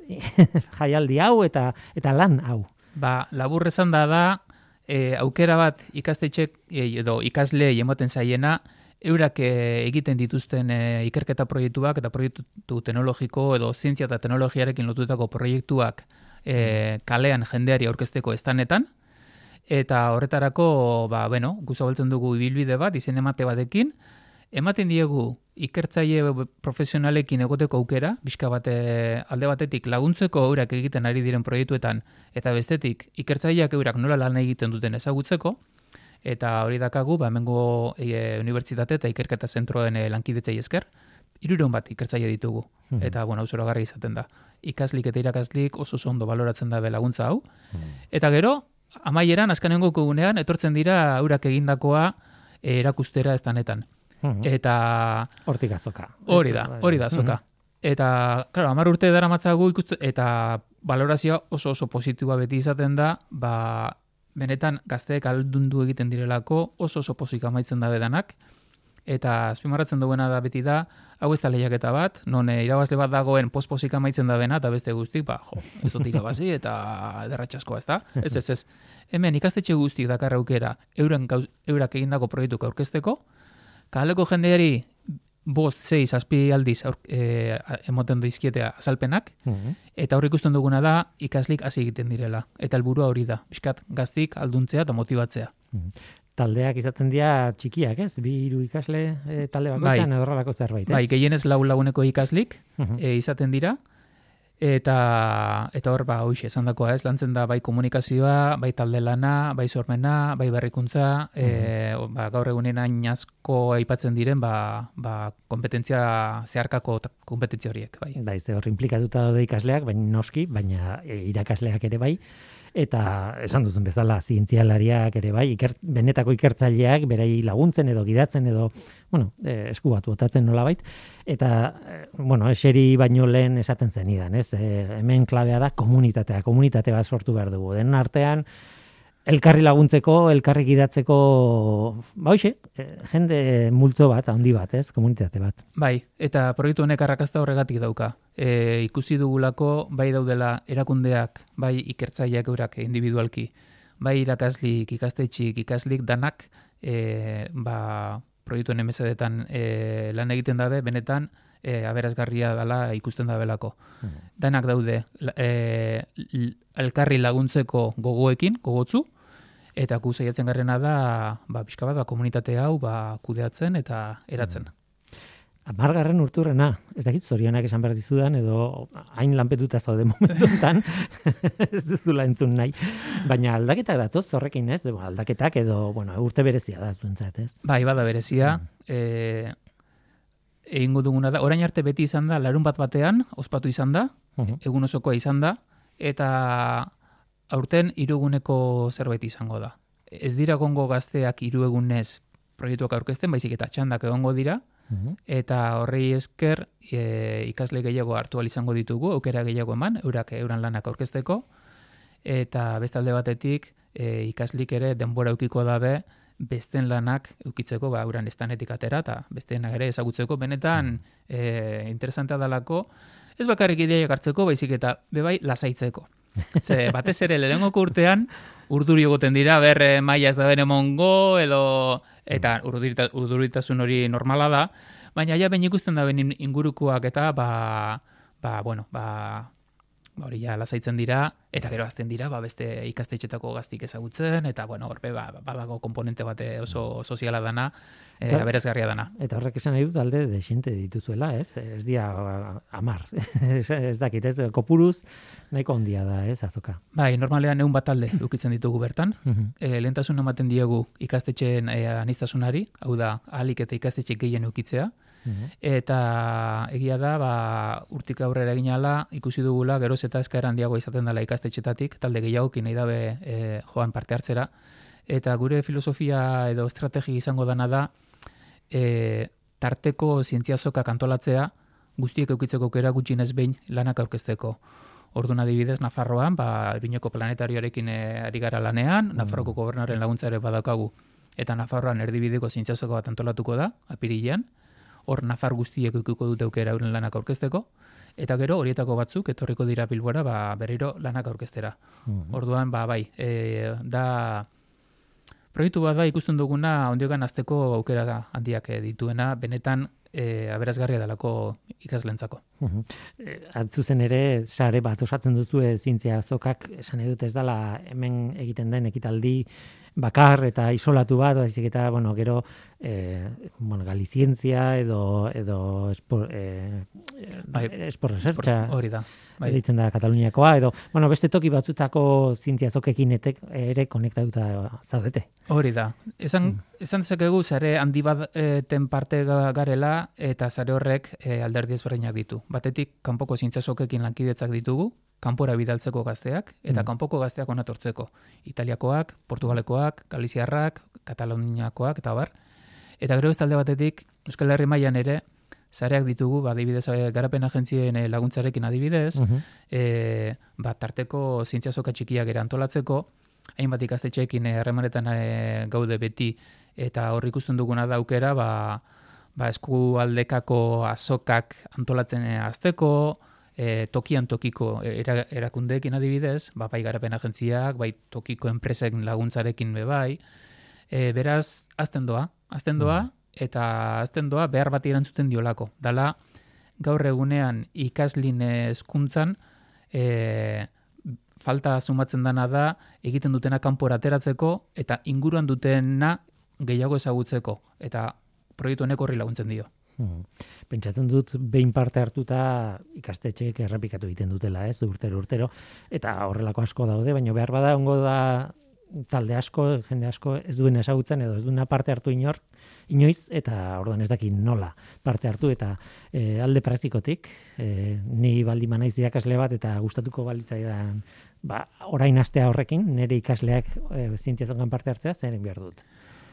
jaialdi hau eta lan hau. Ba, labur esan da, aukera bat ikastetxek edo ikasle ematen zaiena, eurak egiten dituzten ikerketa proiektuak eta proiektu teknologiko edo zientzia eta teknologiarekin lotutako proiektuak kalean jendeari aurkezteko estanetan, eta horretarako, guzabaltzen dugu ibilbide bat, izen emate batekin, ematen diegu ikertzaile profesionalekin egoteko aukera, bizka bate alde batetik laguntzeko eurak egiten ari diren proiektuetan, eta bestetik ikertzaileak eurak nola lan egiten duten ezagutzeko, eta hori dakagu, hemengo unibertsitate eta ikerketa zentroen lankidetzei esker, 300 bat ikertzaile ditugu, eta zoragarri izaten da. Ikaslik eta irakaslik oso ondo baloratzen da laguntza hau, eta gero, amaieran, azkenengo egunean, etortzen dira eurak egindakoa erakustera estanetan. Eta hortik azoka. Hori da azoka. Eta, claro, 10 urte daramatzagu eta valorazioa oso positiboa beti izaten da, benetan gazteek aldundu egiten direlako oso pozik amaitzen da bedanak, eta azpimarratzen duena da beti da, hau ez da lehiaketa bat, non irabazle bat dagoen pospozik amaitzen da bena, eta beste guztik, ez dotik abazi, eta derratxaskoa, ez da? Ez. Hemen ikastetxe guztik dakar aukera eurak egindako proiektuk aurkezteko, kaleko jendeari 5, 6, 7 aldiz emoten dizkietea azalpenak, eta hor ikusten duguna da ikaslik hasi egiten direla. Eta helburua hori da, bizkat gaztik alduntzea eta motibatzea. Taldeak izaten dira txikiak, ez? 2-3 ikasle talde bakoitzan horrelako zerbait, ez? Bai, gehienez 4 laguneko ikaslik izaten dira, eta hor, hoxe, esan dakoa, ez? Lantzen da bai komunikazioa, bai talde lana, bai sormena, bai berrikuntza, gaur egunen hain asko aipatzen diren, kompetentzia zeharkako kompetentzia horiek, bai. Bai, ze hor implikatuta daude ikasleak, baina irakasleak ere bai, eta esan duzun bezala zientzialariak ere bai, benetako ikertzaileak berei laguntzen edo gidatzen edo, esku batu otatzen nolabait, eta, eseri baino lehen esaten zenidan, ez? Hemen klabea da komunitate bat sortu behar dugu. Den artean, elkarri laguntzeko, elkarri gidatzeko, jende multzo bat, handi bat, ez? Komunitate bat. Bai, eta proiektu honek arrakasta horregatik dauka. Ikusi dugulako, bai daudela erakundeak, bai ikertzaileak eurak individualki, bai irakaslik, ikastetxik, ikaslik danak, proiektu honen mesedetan lan egiten dabe, benetan, aberazgarria dela ikusten dabelako. Danak daude elkarri laguntzeko gogotzu, eta gu saiatzen garrena da, pixka bat, komunitate hau kudeatzen eta eratzen. 10. urturrena, ez dakit zorionak esan behar dizudan, edo hain lanpetuta zaude momentu enten, ez duzula entzun nahi, baina aldaketak datoz horrekin, ez? Aldaketak edo, urte berezia da zuentzat, ez? Bai, bada berezia, egingo duguna da, orain arte beti izan da, larun batean, ospatu izan da, egun osokoa izan da, eta aurten 3 eguneko zerbait izango da. Ez dira gongo gazteak 3 egunez proiektuak aurkezten, baizik eta txandak egongo dira, eta horrei esker ikasle gehiago hartu izango ditugu, aukera gehiago eman, euran lanak aurkezteko, eta bestalde batetik ikaslik ere denbora eukiko dabe, besten lanak eukitzeko, euran estanetik atera, eta besteenak ere ezagutzeko, benetan interesantea dalako, ez bakarrik ideiak hartzeko, baizik eta bebai lasaitzeko. Ze batez ere lehenengoko urtean, urduri egoten dira, maila ez da bere mongo, eta urduritasun hori normala da, baina ja ben ikusten da ben ingurukoak eta hori ja lasaitzen dira, eta gero azten dira, beste ikastetxetako gaztik ezagutzen, eta horbe badago komponente bate oso soziala dana, aberasgarria dana. Eta horrek esan nahi dut alde desente dituzuela, ez? Ez dia 10, ez dakit, ez? Kopuruz nahiko handia da, ez, azoka? Bai, normalean 100 bat talde ukitzen ditugu bertan. Lehentasun ematen diegu ikastetxeen anistasunari, hau da, ahalik eta ikastetxe gehien ukitzea, eta egia da, urtik aurrera eginala, ikusi dugula, geroz eta eskaera handiago izaten dela ikastetxetatik, talde gehiagokin nahi dabe joan parte hartzera, eta gure filosofia edo estrategi izango dana da, tarteko zientziazokak antolatzea, guztiek eukitzeko aukera gutxienez behin lanak aurkezteko. Orduan adibidez, Nafarroan, Iruñeko planetarioarekin ari gara lanean, Nafarroko gobernaren laguntza ere badaukagu. eta Nafarroan erdibideko zientziazoko bat antolatuko da, apirilean, hor Nafar guztiek ukiko dute aukera euren lanak aurkezteko, eta gero horietako batzuk etorriko dira Bilbora berriro lanak aurkeztera. Orduan, bai, da proiektu bat da ikusten duguna ondiokan azteko aukera handiak dituena, benetan aberazgarria delako ikaslentzako. Zuzen ere, sare bat osatzen duzu zientzia azokak, esan edut ez dela hemen egiten den ekitaldi bakar eta isolatu bat, baizik eta, gero, Galizientzia edo Esport Researcha hori da. Editzen da Kataluniakoa, edo, beste toki batzutako zientzia azokekin ere konektatuta zaudete. Hori da. Esan dezakegu, sare handi baten parte garela, eta sare horrek alderdi ezberdinak ditu. Batetik, kanpoko zientzia azokekin lankidetzak ditugu, kanpora bidaltzeko gazteak, eta kanpoko gazteak onatortzeko. Italiakoak, Portugalekoak, Galiziarrak, Kataluniakoak, eta bar. Eta gero beste alde batetik, Euskal Herri mailan ere, sareak ditugu, adibidez, garapen agentzien laguntzarekin adibidez, tarteko zientzia azoka txikiak ere antolatzeko, hainbat ikastetxeekin harremanetan gaude beti, eta hor ikusten duguna da aukera, eskualdekako azokak antolatzen azteko, tokian tokiko erakundeekin adibidez, bai garapen agentziak, bai tokiko enpresen laguntzarekin bai, beraz, azten doa, eta azten doa behar bat erantzuten diolako. Dala, gaur egunean ikaslin hezkuntzan falta sumatzen dana da egiten dutena kanpora ateratzeko eta inguruan dutena gehiago ezagutzeko. Eta proiektu honek horri laguntzen dio. Pentsatzen dut, behin parte hartuta ikastetxeek errepikatu egiten dutela, ez, urtero, eta horrelako asko daude, baina behar bada ongo da talde asko, jende asko ez duen ezagutzen edo ez duena parte hartu inoiz, eta orduan ez dakit nola parte hartu, eta alde praktikotik, ni baldin manaiz irakasle bat, eta gustatuko balitzaidan orain astea horrekin, nire ikasleak zientziazokan parte hartzea, zeren behar dut?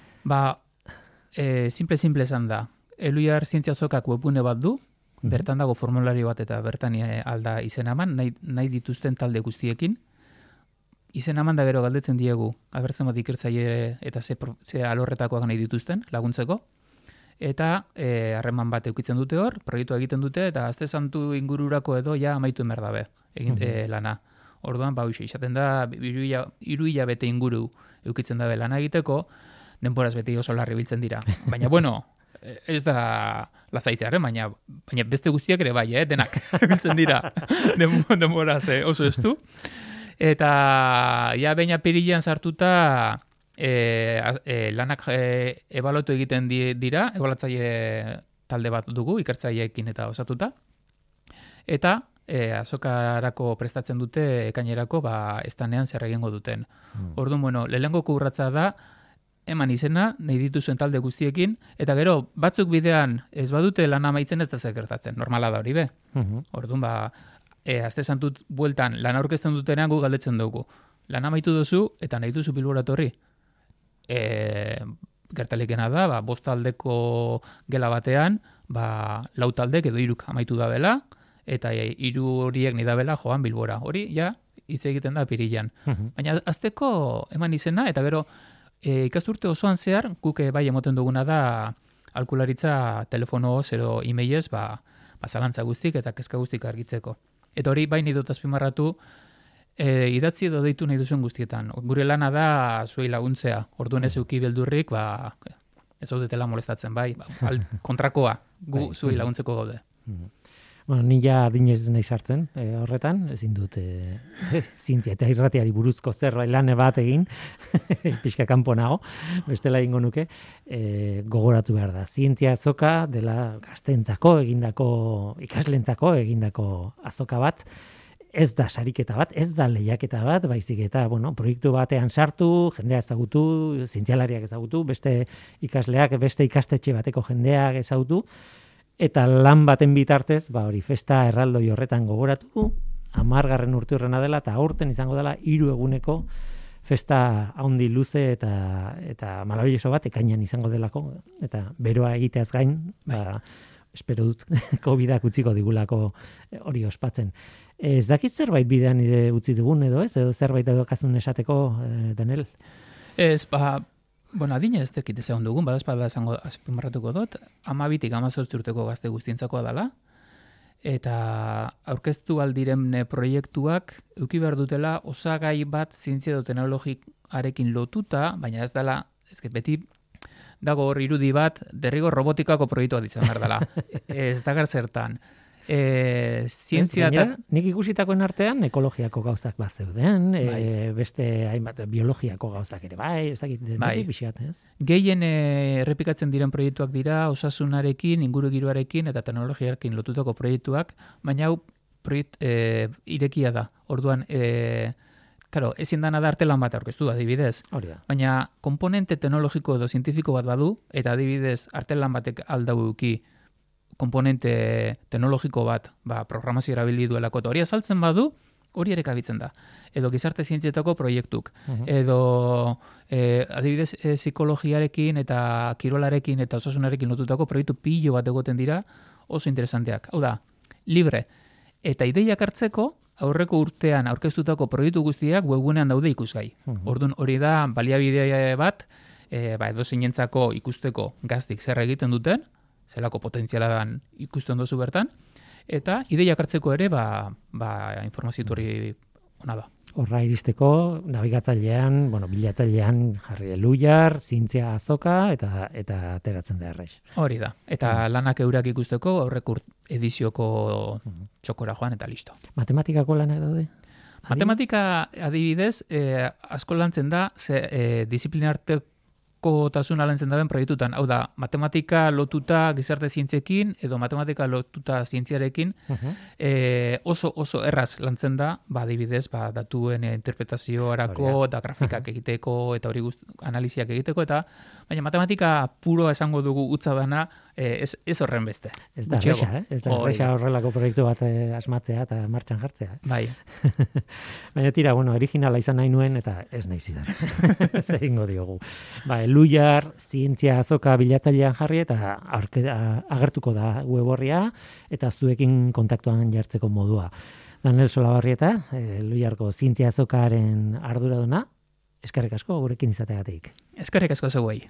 Simple esan da. Eluiar zientziazokak webgune bat du, bertan dago formulario bat eta bertan alda izen eman, nahi dituzten talde guztiekin. Izen eman da gero galdetzen diegu, abertzen bat ikertzaile eta ze alorretakoak nahi dituzten laguntzeko. Eta harreman bat eukitzen dute hor, proiektua egiten dute, eta azte santu ingururako edo ja amaitu emer dabe lana. Orduan, izaten da, 3 hilabete inguru eukitzen dabe lana egiteko, denboraz beti oso larri biltzen dira. Baina, ez da lazaitzearen, baina beste guztiak ere bai, denak biltzen dira denboraz oso ez du. Eta baina apirilean sartuta lanak ebaluatu egiten dira, ebaluatzaile talde bat dugu, ikertzaileekin eta osatuta. Eta azokarako prestatzen dute ekainerako estanean zer egingo duten. Orduan, lehenengo urratsa da, eman izena, nahi dituzuen talde guztiekin, eta gero, batzuk bidean ez badute lan amaitzen ez da zekertatzen, normala da hori be. Orduan, azte santut bueltan lan aurkezten dutenean gu galdetzen dugu. Lan amaitu duzu eta nahi duzu Bilbora etorri. Gertalikena da, 5 taldeko gela batean, 4 taldek edo 3 amaitu da bela, eta 3 horiek nahi da bela joan Bilbora. Hori, hitz egiten da apirilean. Baina azteko eman izena, eta gero, ikasturte osoan zehar, guk bai emoten duguna da alkularitza telefonoz edo emailez zalantza guztik eta kezka guztik argitzeko. Eta hori bai nahi dut azpimarratu idatzi edo deitu nahi duzuen guztietan. Gure lana da zuei laguntzea. Orduan ez euki beldurrik, ez zaudetela molestatzen, kontrakoa gu zuei laguntzeko gaude. Ni ja adinez nahi sartzen horretan, ezin dut zientzia eta irratiari buruzko zerbait lan bat egin, pixka kanpo nago, bestela egingo nuke, gogoratu behar da. Zientzia azoka dela gazteentzako egindako, ikaslentzako egindako azoka bat, ez da sariketa bat, ez da lehiaketa bat, baizik eta, proiektu batean sartu, jendea ezagutu, zientzialariak ezagutu, beste ikasleak, beste ikastetxe bateko jendeak ezagutu, eta lan baten bitartez, hori festa erraldoi horretan gogoratu, 10. urteurrena dela, eta aurten izango dela 3 eguneko festa handi luze eta maravilloso bat, ekainan izango delako, eta beroa egiteaz gain, espero dut COVID-ak utziko digulako hori ospatzen. Ez dakit zerbait bidean utzi dugun edo ez? Edo zerbait edokazun esateko, Daniel? Ez, Bueno, adina ez dekit ezagun dugun, badazpada esango azpimarratuko dut, 12-tik 18 urteko gazte guztientzakoa dela, eta aurkeztu aldiren proiektuak eduki behar dutela osagai bat zientzia edo teknologiarekin lotuta, baina ez dela, beti dago hor irudi bat, derrigor robotikako proiektua ditzen behar dela. Ez dagar zertan. Zientzia gainera, nik ikusitakoen artean ekologiako gauzak bat zeuden, beste hainbat biologiako gauzak ere, ez dakit, pixat, ez? Gehien errepikatzen diren proiektuak dira, osasunarekin, ingurugiroarekin eta teknologiarekin lotutako proiektuak, baina hau irekia da. Orduan, claro, ezin dana da artelan bat aurkeztu, adibidez. Baina komponente teknologiko edo zientifiko bat badu, eta adibidez artelan batek aldauki komponente teknologiko bat, programazio erabili duelako, eta hori azaltzen badu, hori ere kabitzen da. Edo gizarte zientzietako proiektuk. Edo adibidez psikologiarekin eta kirolarekin eta osasunarekin lotutako proiektu pilo bat egoten dira, oso interesanteak. Hau da, libre. Eta ideiak hartzeko, aurreko urtean aurkeztutako proiektu guztiak webgunean daude ikusgai. Orduan hori da baliabide bat, edo zeinentzako ikusteko gaztik zer egiten duten, zelako potentziala dan ikusten dozu bertan, eta ideiak hartzeko ere, informazio hori ona da. Horra iristeko, nabigatzailean, bilatzailean jarri Elhuyar, Zientzia Azoka, eta ateratzen da errez. Hori da. Eta lanak eurak ikusteko, aurreko edizioko txokora joan, eta listo. Matematikako lanak daude? Matematika, adibidez, asko lantzen da, disiplinarteko tasuna lantzen daben proiektutan. Hau da, matematika lotuta gizarte zientziekin, edo matematika lotuta zientziarekin, oso erraz lantzen da, adibidez, datuen interpretazioarako, eta grafikak egiteko, eta hori analiziak egiteko, eta baina matematika puro esango dugu utza dana, ez horren beste. Ez da erresa, ez da erresa horrelako proiektu bat asmatzea eta martxan jartzea. Bai. Baina tira, originala izan nahi nuen, eta ez nahi zidan. Zer ingo diogu. Elhuyar, Zientzia Azoka bilatzailean jarri, eta agertuko da web horria, eta zuekin kontaktuan jartzeko modua. Daniel Solabarrieta, Elhuyarko Zientzia Azokaren arduraduna, eskerrik asko gurekin izateagatik. Eskerrik asko zeuei.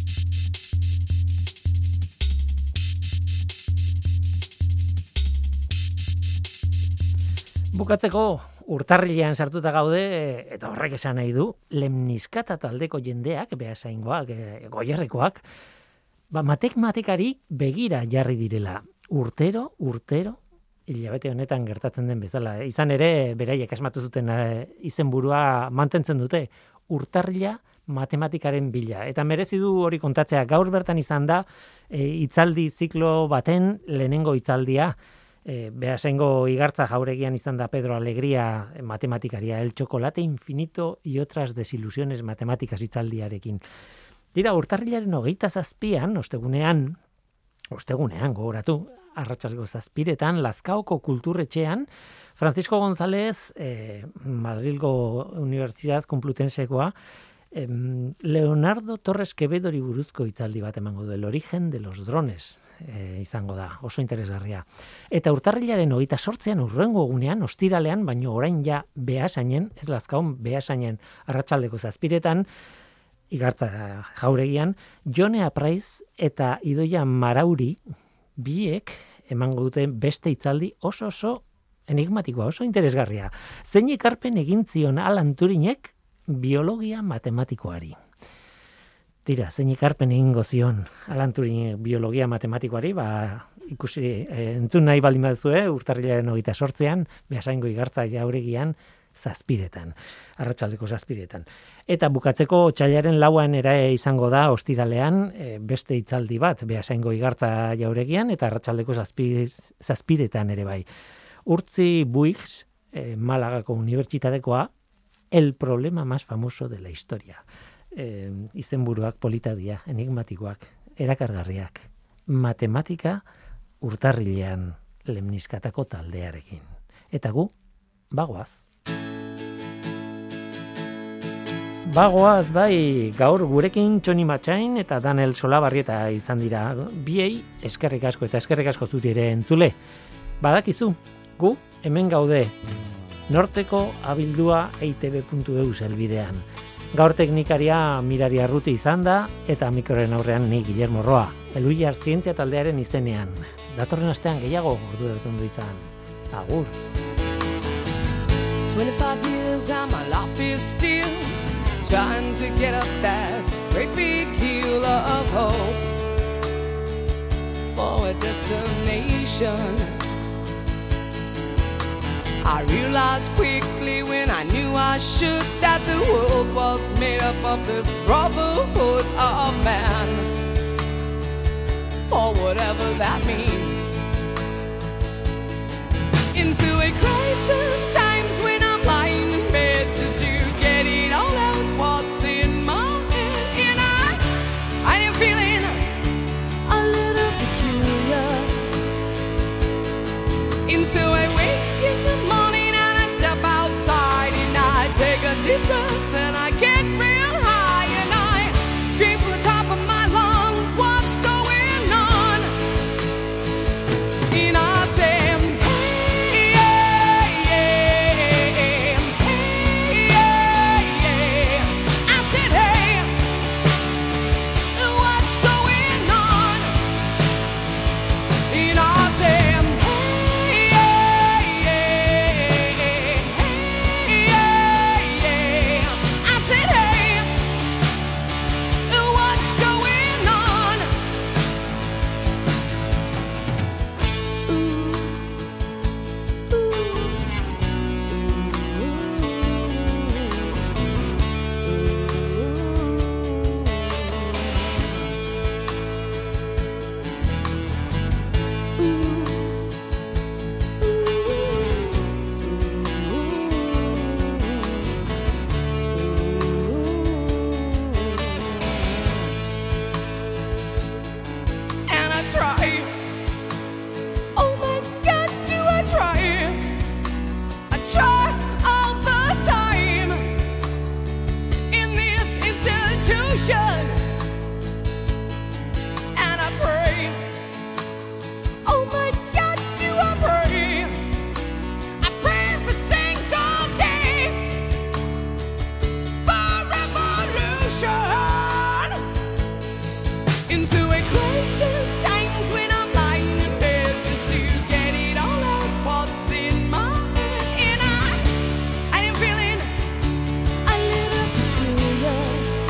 Bukatzeko, urtarrilean sartuta gaude, eta horrek esan nahi du, lemniskata taldeko jendeak, behasaingoak, goierrekoak, matematikari begira jarri direla. Urtero, hilabete honetan gertatzen den bezala. Izan ere, beraiek asmatu zuten izenburua mantentzen dute, urtarrila matematikaren bila. Eta merezi du hori kontatzea, gaur bertan izan da, hitzaldi ziklo baten lehenengo hitzaldia, Beasaingo igartza jauregian izan da Pedro Alegría matematikaria, el chocolate infinito y otras desilusiones matemáticas hitzaldiarekin. Dira, urtarrilaren 27an, ostegunean gogoratu, arratsaldeko 7:00 Lazkaoko kulturretxean, Francisco González, Madrilgo Universidad Complutensekoa, Leonardo Torres Quevedori buruzko hitzaldi bat emango du, el origen de los drones, izango da, oso interesgarria. Eta urtarrilaren 28an hurrengo egunean, ostiralean, baino orain ja Beasainen, ez Lazkaon, Beasainen arratsaldeko 7:00 igartza jauregian, Jone Apraiz eta Idoia Marauri biek emango dute beste hitzaldi oso enigmatikoa, oso interesgarria. Zein ekarpen egin zion Alan Turinek biologia matematikoari. Tira, zein ekarpen egingo zion Alan Turinek biologia matematikoari, ikusi, entzun nahi baldin baduzue, urtarrilaren 28an, Beasaingo igartza jauregian 7:00, arratsaldeko 7:00. Eta bukatzeko otsailaren 4an ere izango da ostiralean beste hitzaldi bat Beasaingo igartza jauregian eta arratsaldeko 7:00 ere bai. Urtzi Buix, Malagako unibertsitatekoa, el problema más famoso de la historia. Izenburuak polita dira, enigmatikoak, erakargarriak. Matematika urtarrilean lemniskatako taldearekin. Eta gu, bagoaz. Bagoaz, bai, gaur gurekin Txoni Matxain eta Daniel Solabarrieta izan dira. Biei, eskerrik asko eta eskerrik asko zuri ere entzule. Badakizu, gu hemen gaude, norteko abildua eitb.eu helbidean. Gaur teknikaria Mirari Arruti izan da, eta mikroren aurrean ni Guillermo Roa, Elhuyar zientzia taldearen izenean. Datorren astean gehiago orduratu du izan. Agur. 25 years and my life is still trying to get up that great big hill of hope for a destination. I realized quickly when I knew I should that the world was made up of this brotherhood of man, for whatever that means. Into a crisis times when I'm lying in bed just to get it all out what's in my head, and I am feeling a little peculiar. And so I wake in the morning and I step outside and I take a deep breath and I get real high and I scream from the top of my lungs, what's going on? And I say, hey, yeah, yeah, hey, yeah, yeah. I said, hey, what's going on? And I said, hey, yeah, yeah, hey, yeah, yeah. I said, hey, what's going on? And I try. Oh my God, do I try? I try all the time in this institution. And I pray. Oh my God, do I pray? I pray every single day for revolution. Into a crisis times when I'm lying in bed just to get it all out what's in my head, and I am feeling a little peculiar.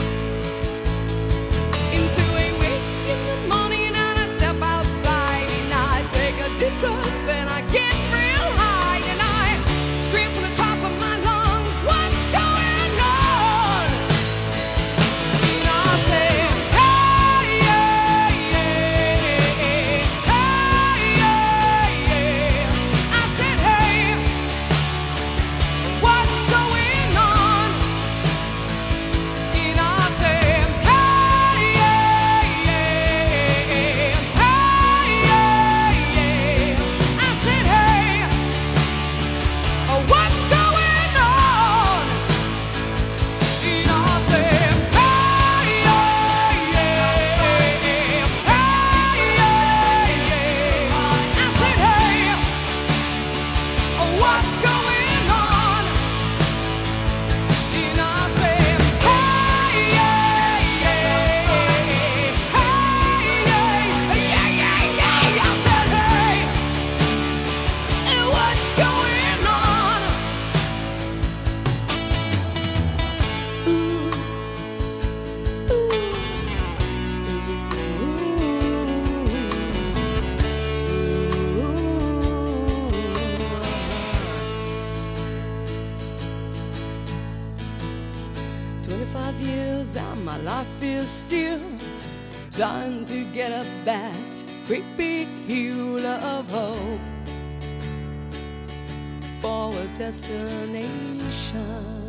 Into a wake in the morning and I step outside and I take a deep breath and I get real high and I scream from the top of my lungs, what's going on? And I say, hey, yeah, yeah, hey, yeah, yeah. I said, hey, what's going on? And I said, hey, yeah, yeah, hey, yeah, yeah. I said, hey, what's going on? And I said, hey, yeah, yeah, hey, yeah, yeah. I said, hey, what's going on? And I said, hey, yeah, yeah, hey, yeah, yeah, yeah. I said, hey, what's going on? Years and my life is still trying to get up that great big hill of hope for a destination.